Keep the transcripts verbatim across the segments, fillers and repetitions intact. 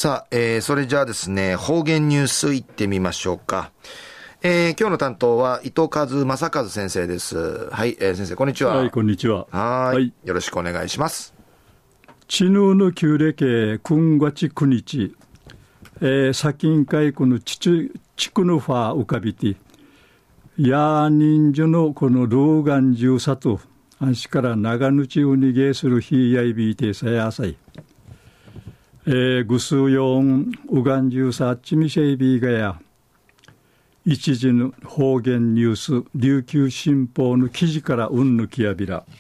さあ、えー、それじゃあですね、方言ニュースいってみましょうか。えー、今日の担当は伊藤和正和先生です。はい、えー、先生こんにちは。 はい、こんにちは。 はい、はい、よろしくお願いします。 知能の旧暦くんがちくにち、えー、先近海この地区のファー浮かびて、やー人数のこの老眼中さと、安心から長ぬちうにげするひやいびいてさやさい。えー、ぐすうよんうがんじゅうさっちみせいびがや、一時の方言ニュース、琉球新報の記事からうんぬきやびら。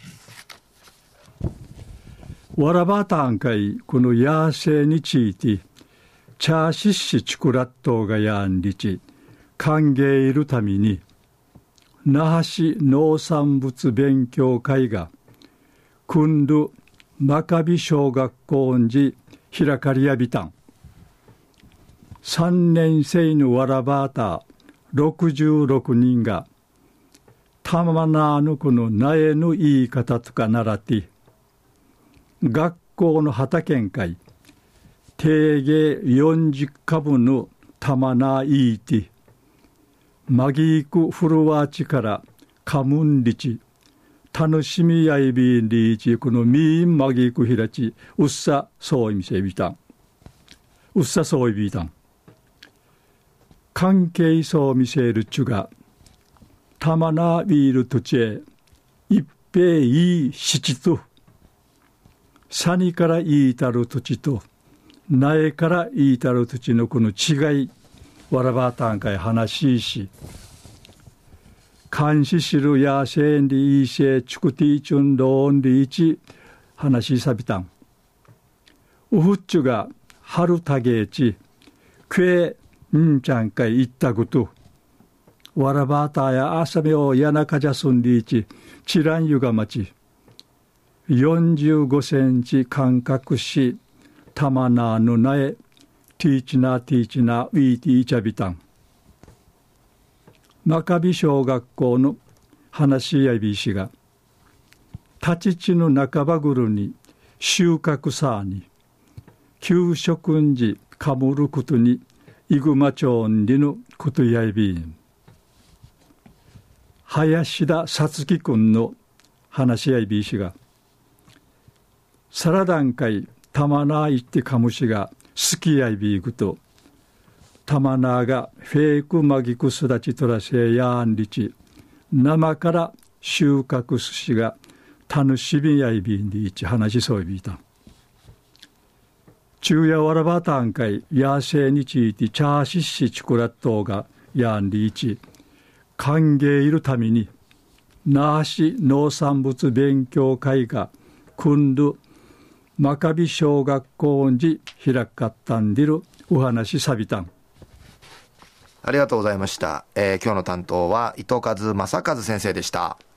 わらばたんかい、このやーせいについて、チャーシッシチクラットがやんりち、歓迎いるために、那覇市農産物勉強会が、くんど真壁小学校んじ開かりやびたん。さんねん生のわらばたろくじゅうろくにんが、たまなぬこの苗の言い方とか習って、学校の畑ん会、定芸よんじゅっかぶのたまないいて、マギークフルワーチからカムンリチ、楽しみやいびんリーチ、このミーンマギークヒラチ、うっさそういみせびたん。うっさそういびたん。関係そう見せるちゅが、たまなビールとちえ、一平いい七と、サニからいいたる土地と、苗からいいたる土地のこの違い、わらばたんかい話しし、監視しるやせんりいせちくていちゅんどんりいち話しさびたん。うふっちゅが春たげち、くえんちゃんかいいったぐと、わらばたやあさめをやなかじゃすんりいち、ちらんゆがまち、よんじゅうごセンチ間隔し、たまなのなえ、ティーチナティーチナウィーティーチャビタン。真壁小学校の話しやびしが、立ち地の半ばぐるに収穫さに、給食んじかむることに、いぐまちょんりのことやびん。林田さつきくんの話しやびしが、サラダン会たまないってかむしが、好きやいびいくと、たまながフェイクマギクスダチトラセやんりち、生から収穫すしが、楽しみやいびんりいち話しそういびいた。昼夜わらばたんかい、やせいにちいてチャーシッシチクラットがやんりいち、歓迎いるために、那覇市農産物勉強会が、くんど、真壁小学校に開かったんでるお話さびたん。 ありがとうございました。えー、今日の担当は伊藤和正和先生でした。